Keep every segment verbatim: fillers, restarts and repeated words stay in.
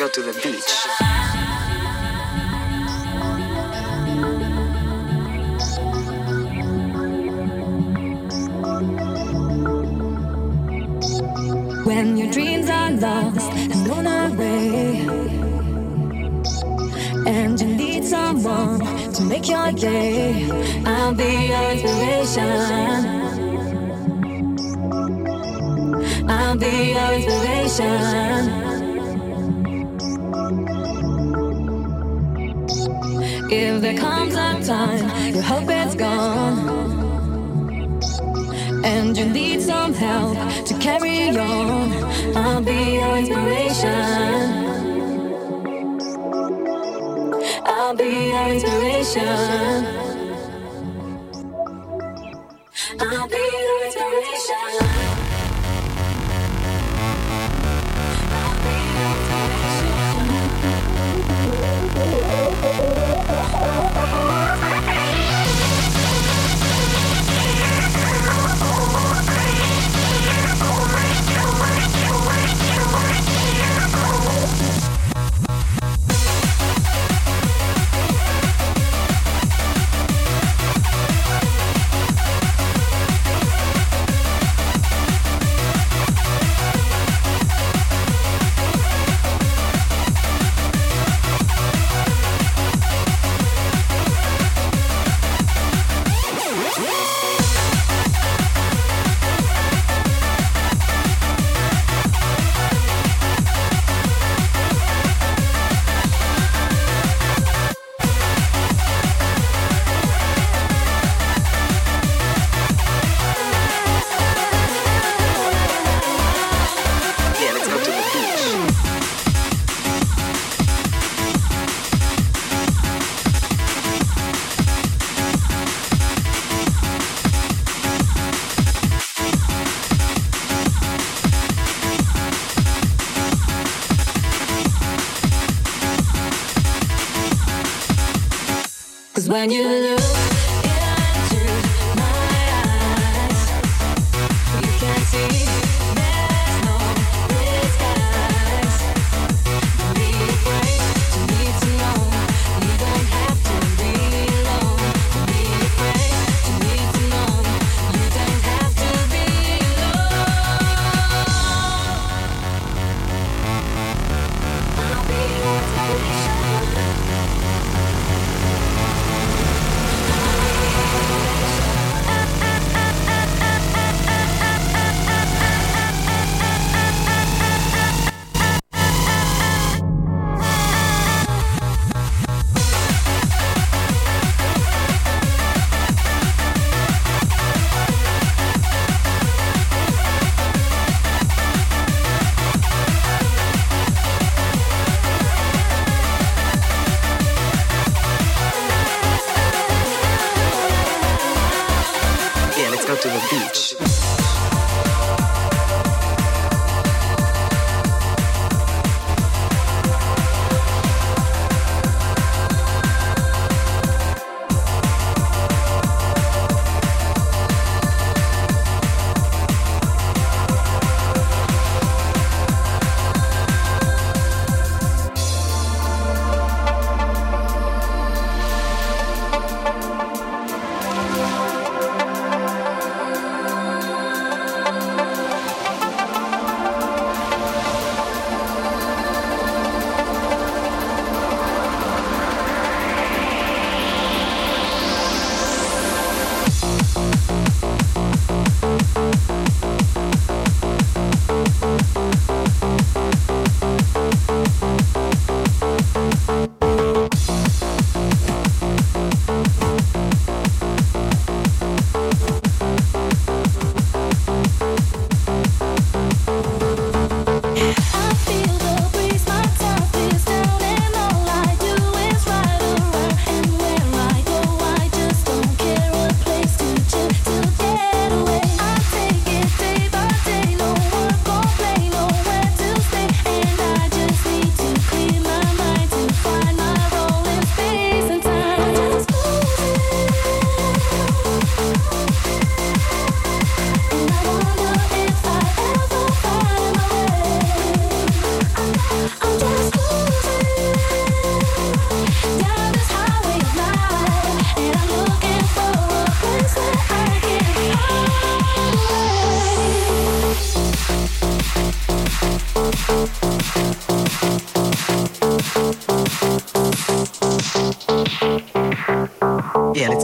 go to the beach. When your dreams are lost and gone away, and you need someone to make your day, I'll be your inspiration. I'll be your inspiration. If there comes a time your hope is gone and you need some help to carry on, I'll be your inspiration. I'll be your inspiration. I'll be your inspiration. When you look into my eyes, you can see there's no disguise. Don't be afraid to need to know. You don't have to be alone. Don't be afraid to need to know. You don't have to be alone. I'll be your inspiration.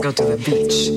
go to the beach.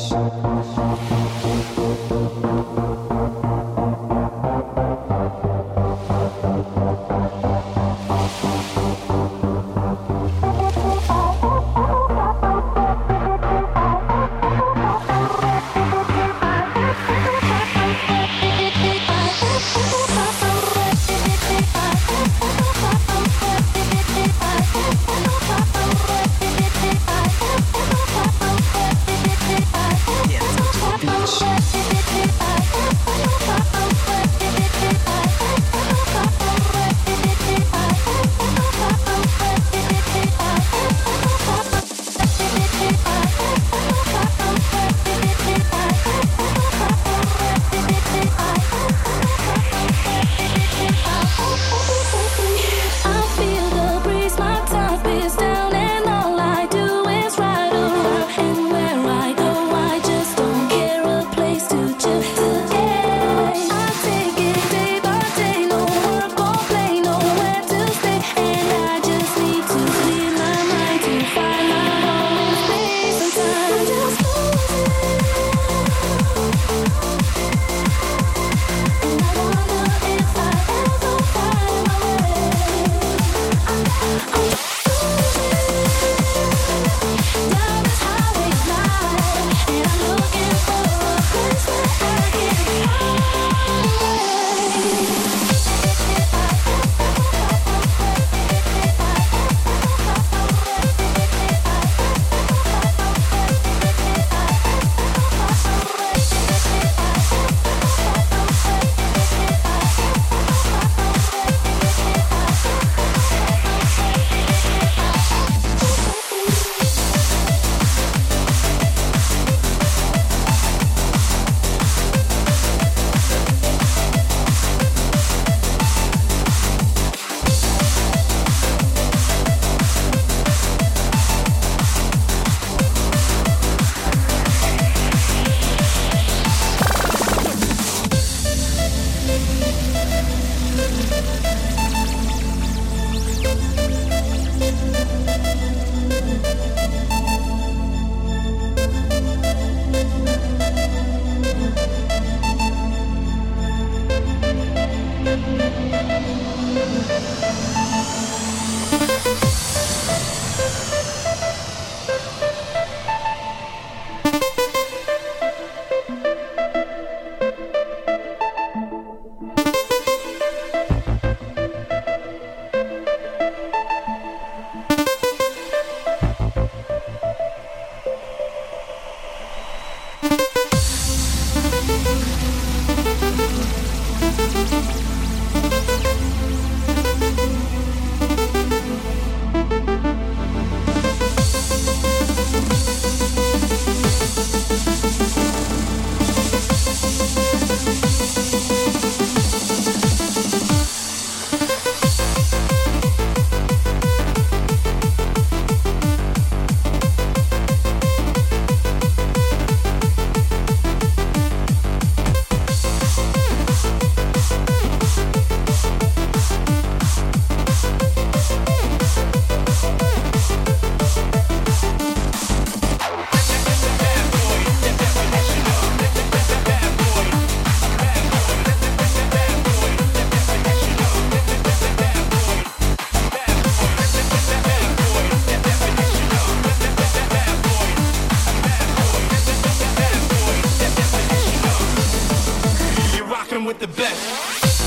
With the best.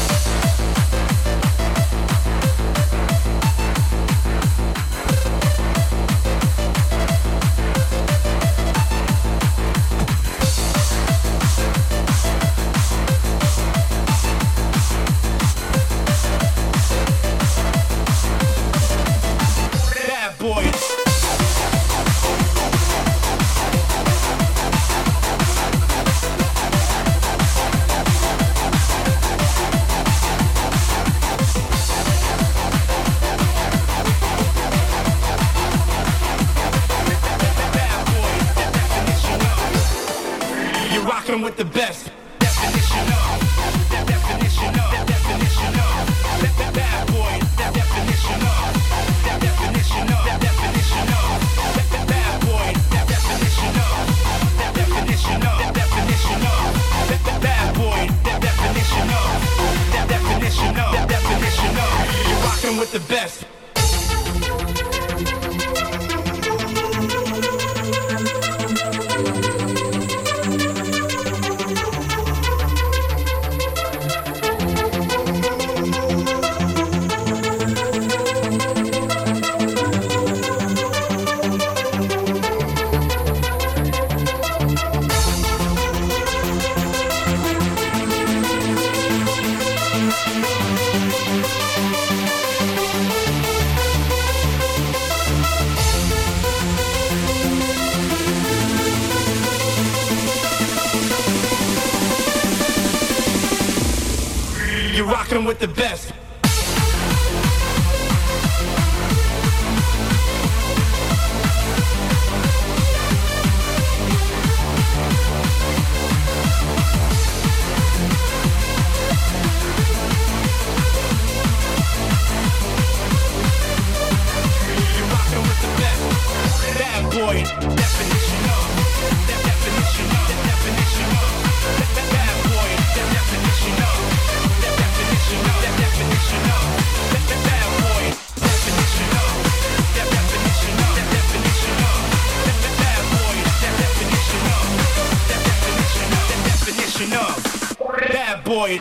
Bad boy. With the best definition of definition of definition of bad boy definition of definition of definition of bad boy definition rocking with the best. You're rocking with the best. You're rocking with the best. Bad boy, definition of. That definition of. That definition of. That bad boy, that definition of. That definition of. That definition of. That bad boy, definition of. That definition of. That definition of. That bad boy, that definition of. That definition of. That definition of. Bad boy.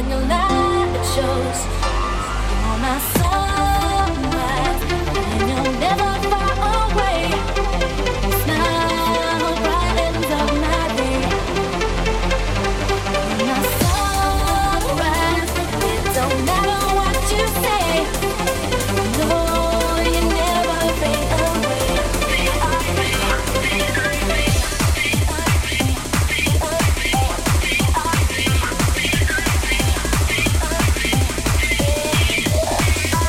in your light it shows. You're my sunrise, and you're never far away. Your smile brightens up my day. You're my sunrise, it don't matter what you say. No, you never fade away. I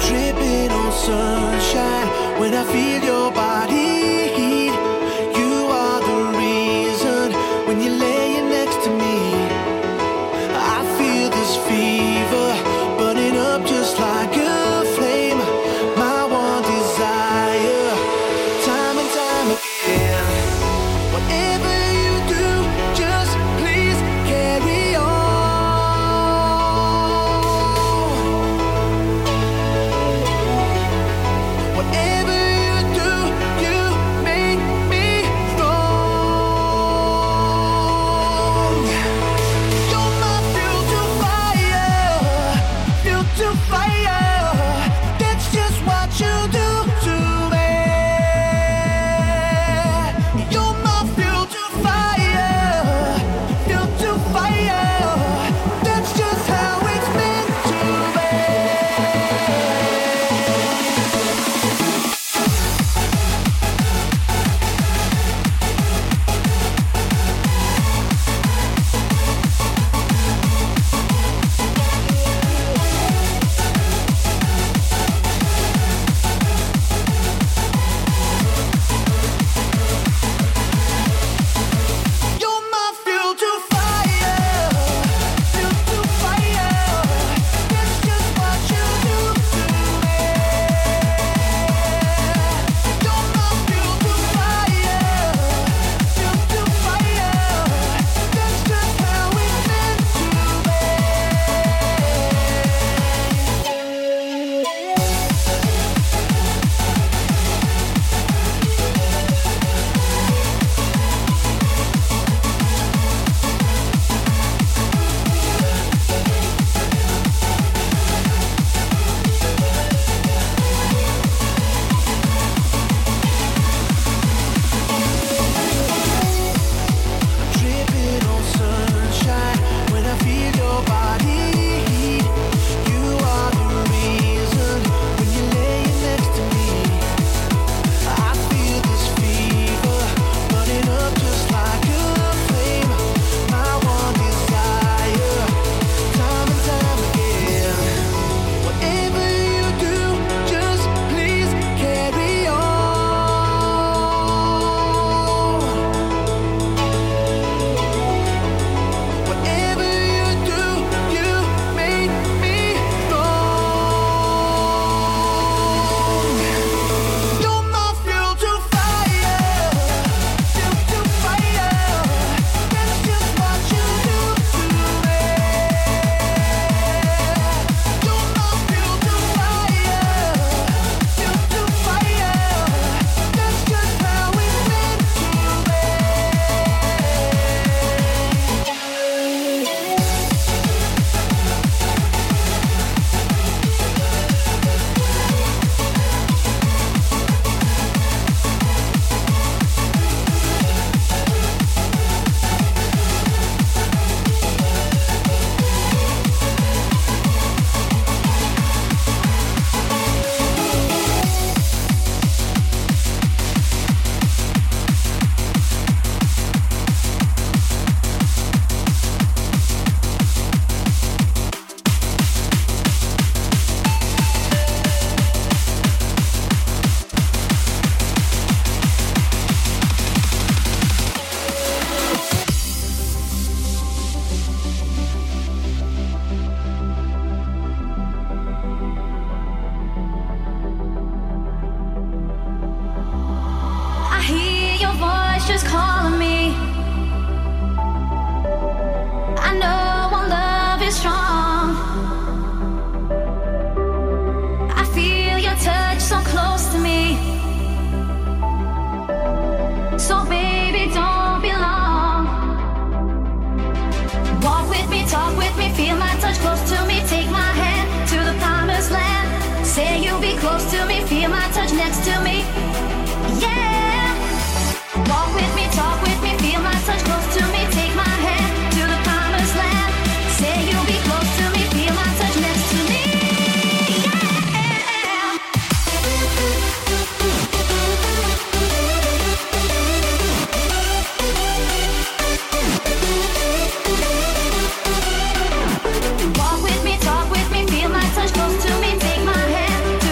dripping on sunshine when I feel your body heat. You are the reason when you're laying next to me. I feel this fever burning up just like a flame. My one desire, time and time again. Whatever you do, just please carry on. Whatever you do, you make me strong. You're my fuel to fire, fuel to fire. That's just what you do to me. You're my fuel to fire, fuel to fire. That's just how it's meant to be. You're my fuel to fire, fuel to fire. That's just what you do to me. You're my fuel to fire, fuel to fire. That's just how it's meant to be. Dripping on sunshine when I feel your body heat. You are the reason when you're laying next to me. I feel this fever burning up just like a flame. My one desire, time and time again. Whatever you do, just please carry on. Whatever you do, you make me strong. You're my fuel to fire, fuel to fire. That's just what you do to me. You're my fuel to fire, fuel to fire. That's just how it's meant to be. I hear your voice just calling me. I know our love is strong. I feel your touch so close to me. So baby, don't be long. Walk with me, talk with me, feel my touch close to me. Take my hand to the promised land. Say you'll be close to me, feel my touch next to me. Yeah. Walk with me, talk with me, feel my touch close to me. Take my hand to the promised land. Say you'll be close to me, feel my touch next to me. Yeah. Walk with me, talk with me, feel my touch close to me. Take my hand to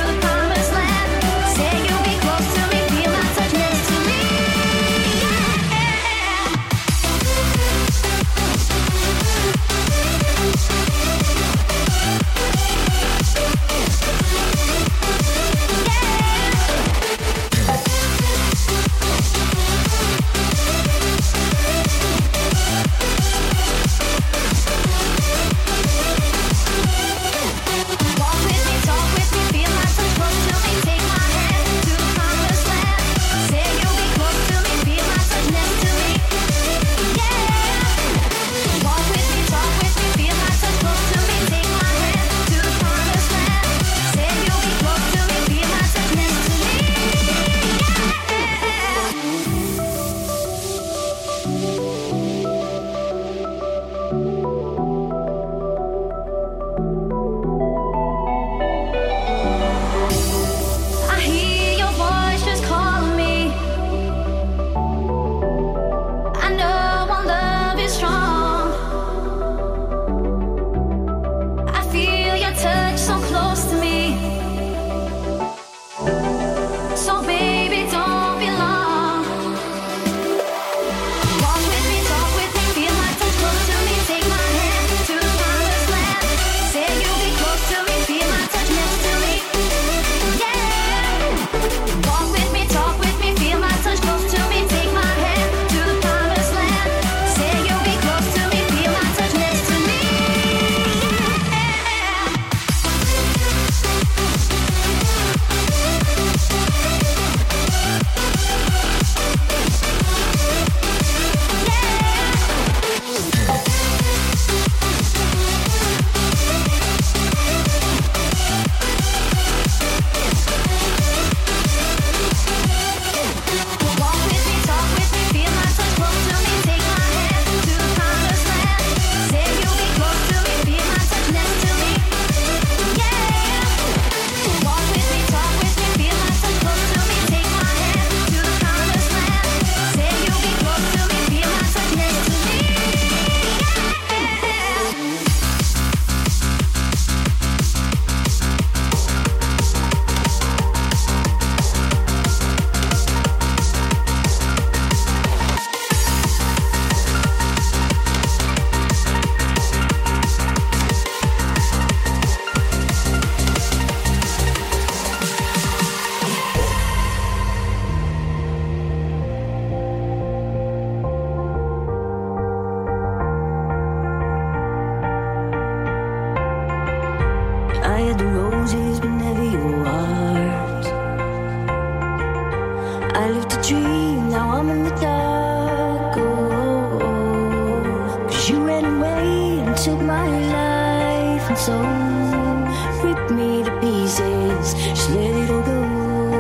just let it all go.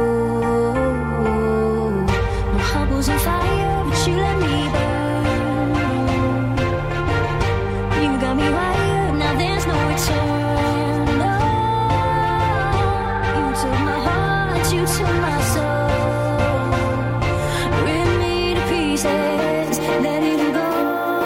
My heart was on fire, but you let me burn. You got me wired, now there's no return. No, you took my heart, you took my soul. Rip me to pieces, let it all go.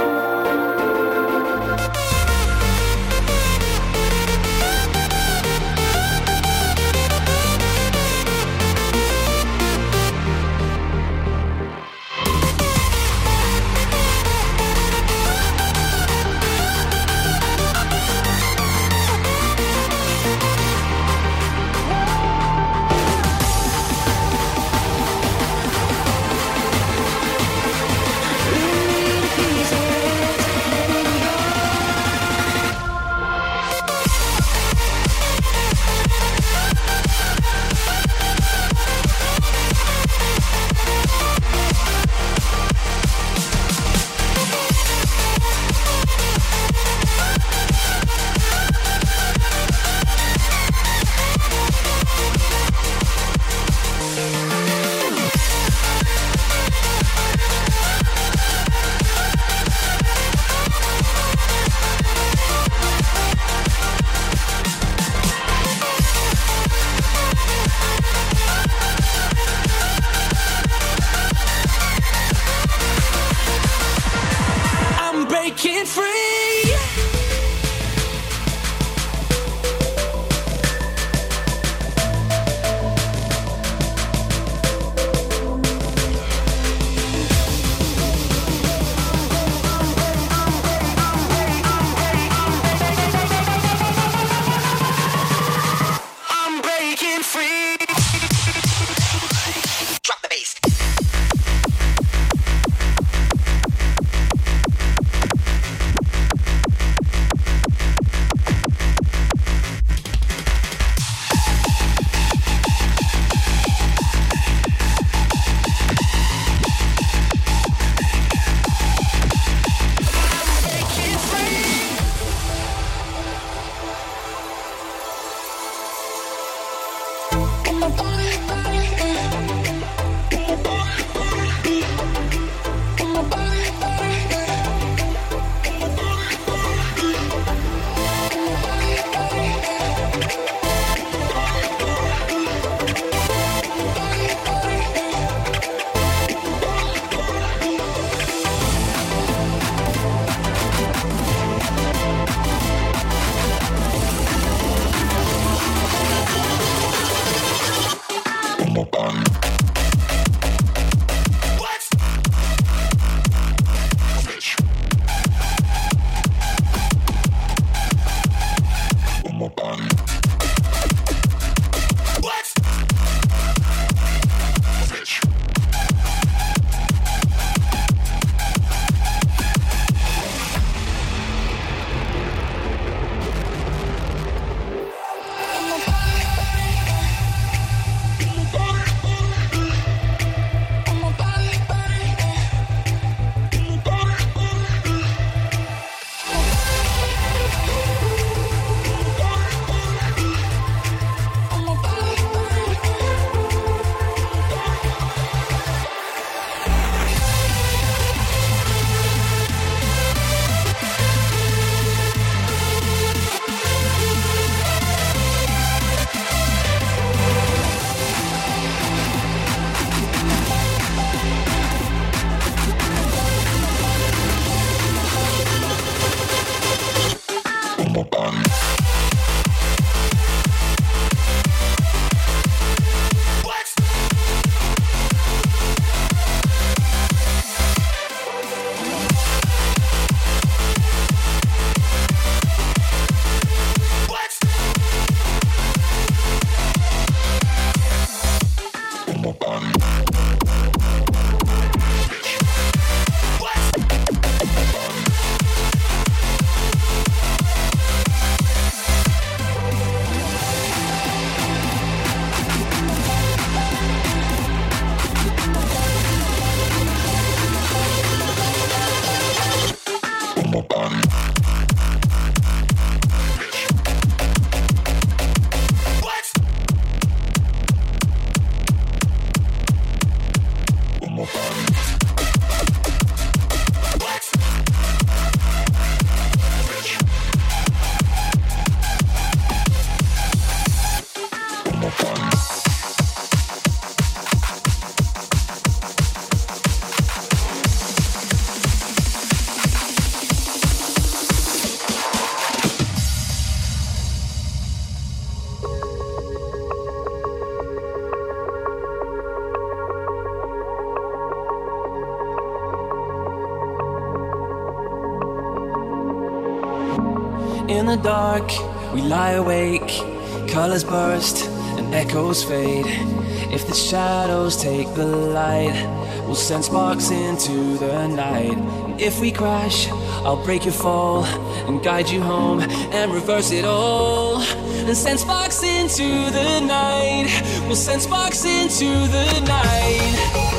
I'm breaking free. I'm breaking free. Drop the bass. In the dark, we lie awake, colors burst and echoes fade. If the shadows take the light, we'll send sparks into the night. And if we crash, I'll break your fall and guide you home and reverse it all. And send sparks into the night, we'll send sparks into the night.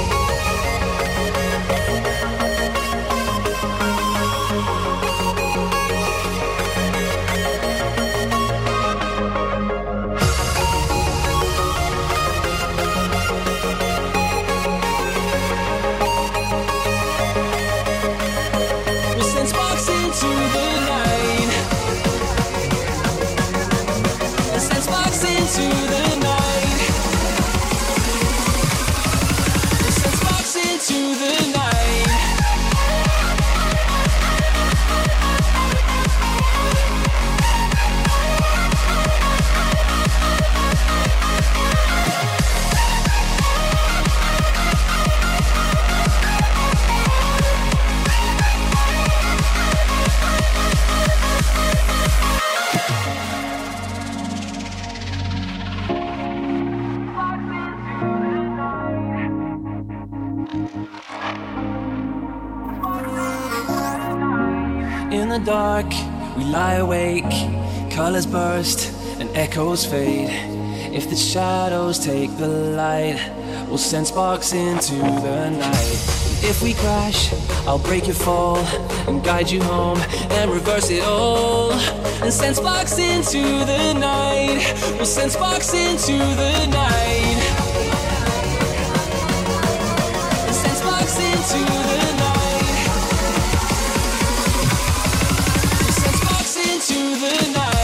In the dark, we lie awake, colors burst and echoes fade. If the shadows take the light, we'll send sparks into the night. If we crash, I'll break your fall and guide you home and reverse it all. And send sparks into the night, we'll send sparks into the night. And send sparks into the night. To the night.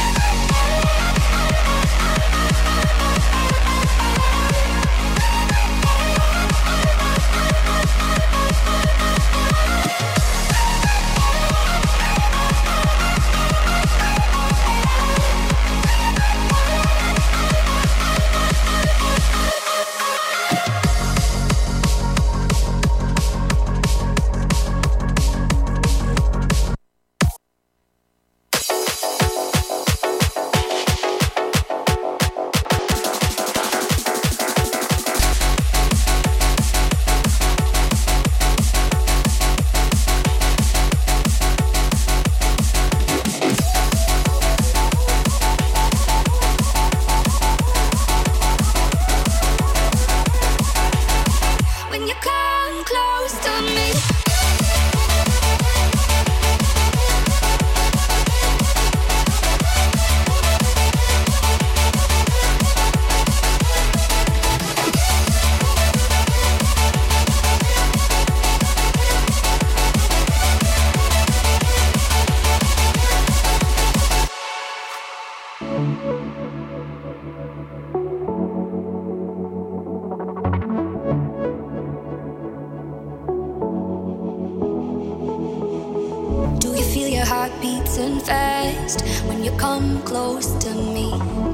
beating fast when you come close to me.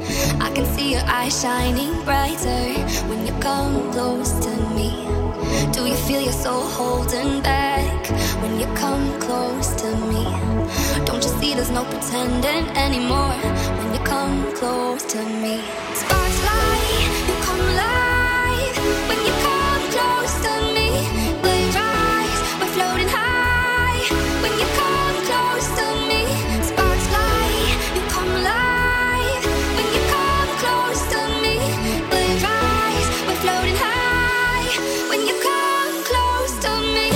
I can see your eyes shining brighter when you come close to me. Do you feel your soul holding back when you come close to me? Don't you see there's no pretending anymore when you come close to me? Sparks fly, you come alive when you come close to me. We rise, we're floating high when you come close to me. Sparks fly, you come alive when you come close to me. We rise, we're floating high when you come close to me.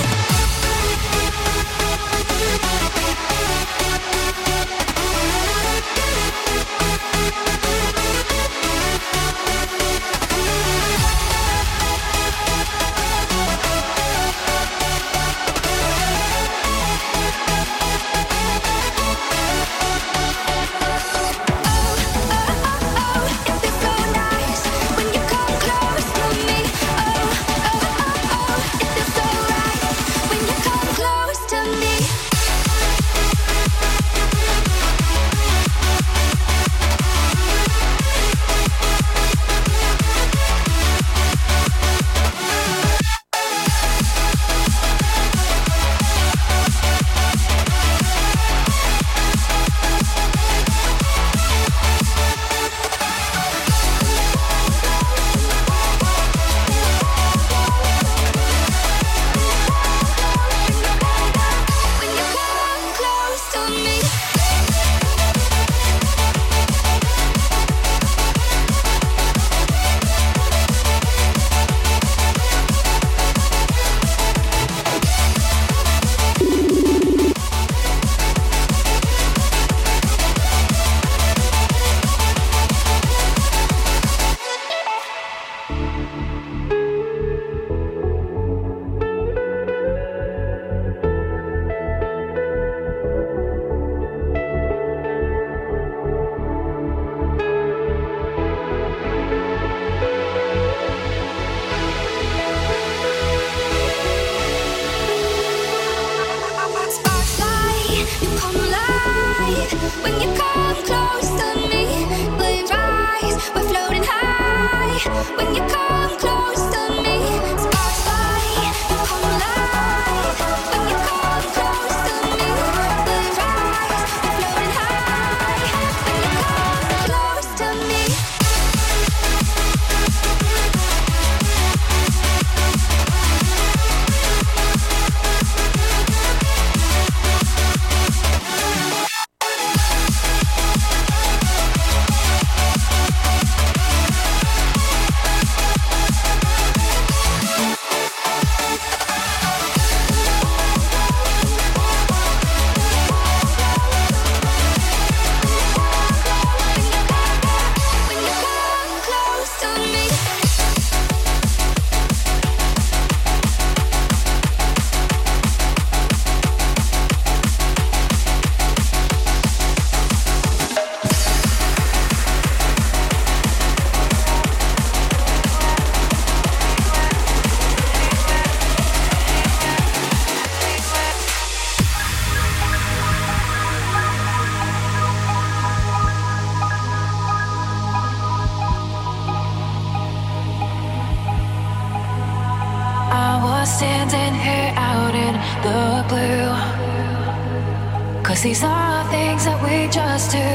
us standing here out in the blue. 'Cause these are things that we just do.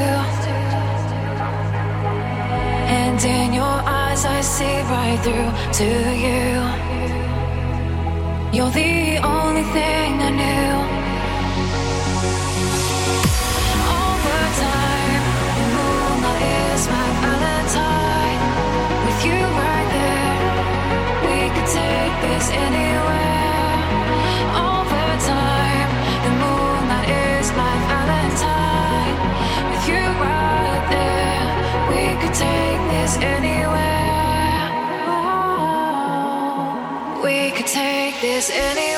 And in your eyes I see right through to you. You're the only thing I knew. All the time, the moonlight is my valentine. With you right there, we could take this anywhere. All the time, the moonlight is my valentine. With you right there, we could take this anywhere. Oh, we could take this anywhere.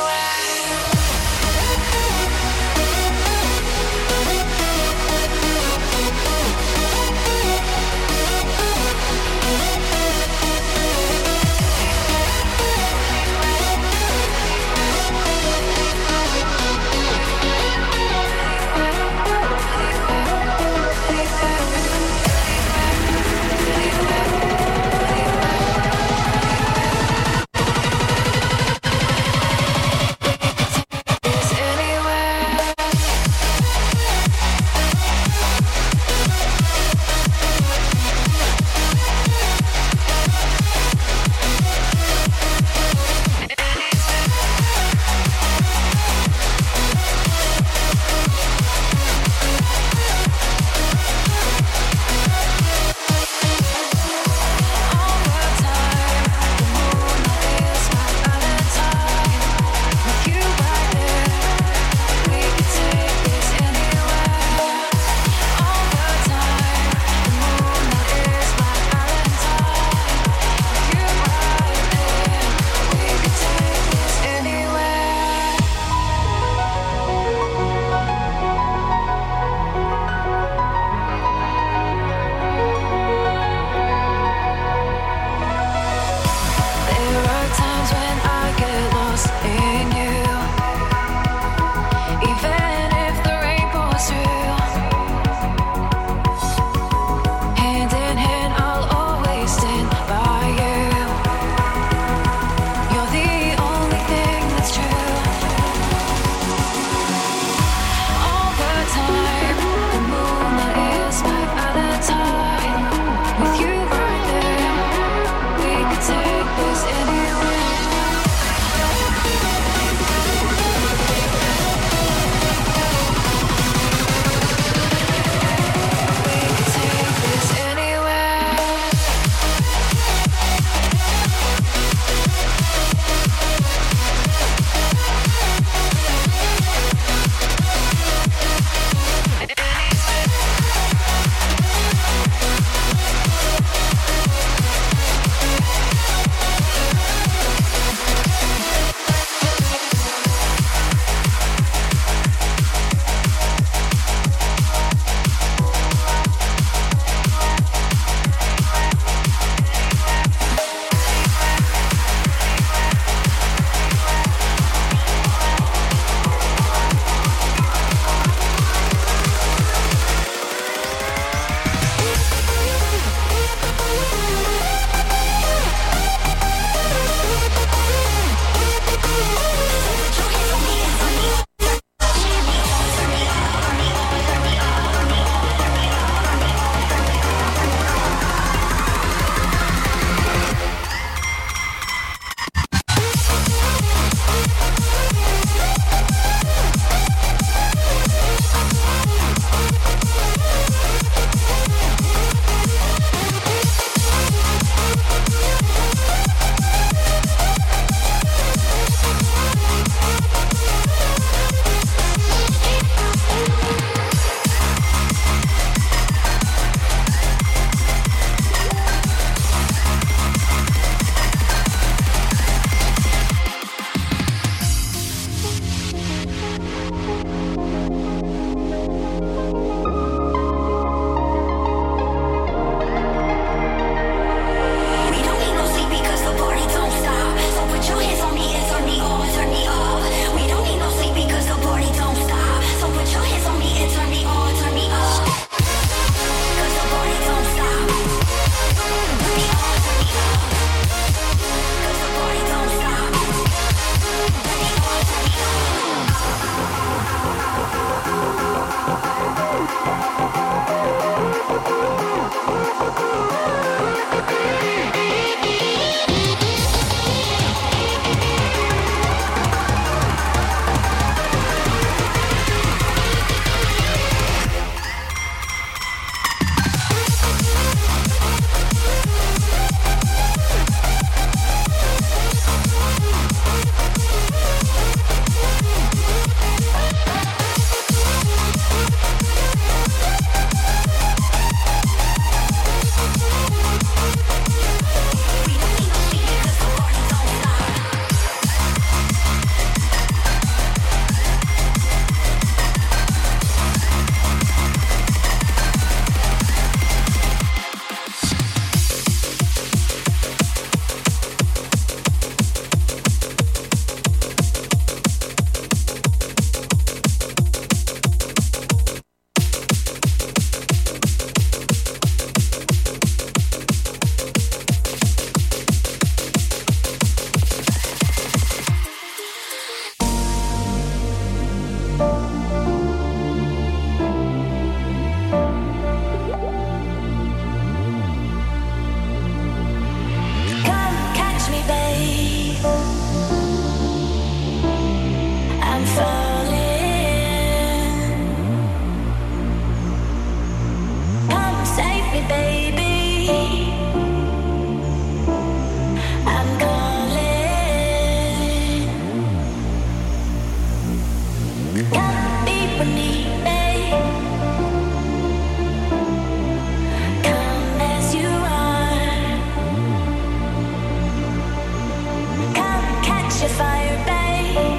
catch your fire, babe.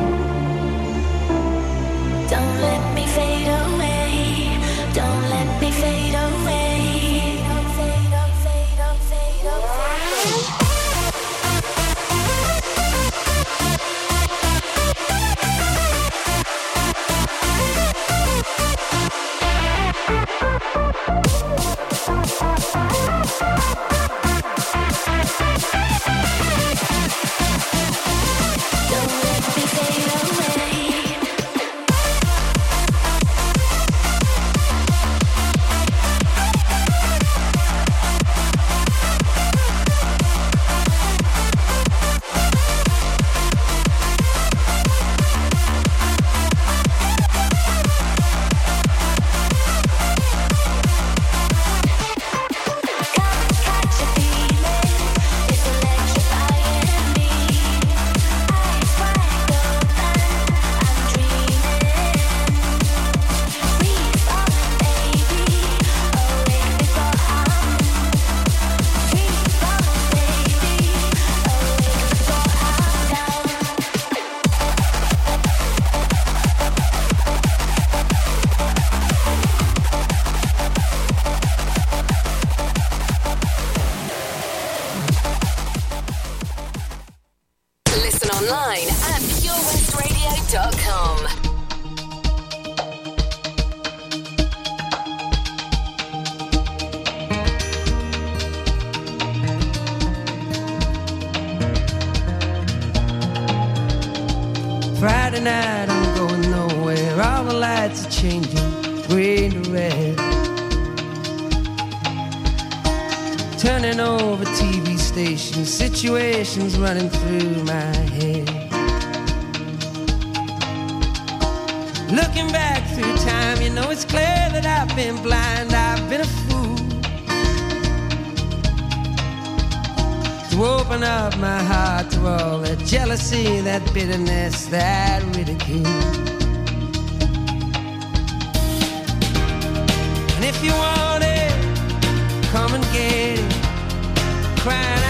Don't let me fade away. Don't let me fade away. Fade, oh, fade, oh, fade, oh, fade, oh. Friday night, I'm going nowhere. All the lights are changing, green to red. Turning over T V stations, situations running through my head. Looking back through time, you know it's clear that I've been blind, I've been a fool to open up my heart to all that jealousy, that bitterness, that ridicule. And if you want it, come and get it, crying out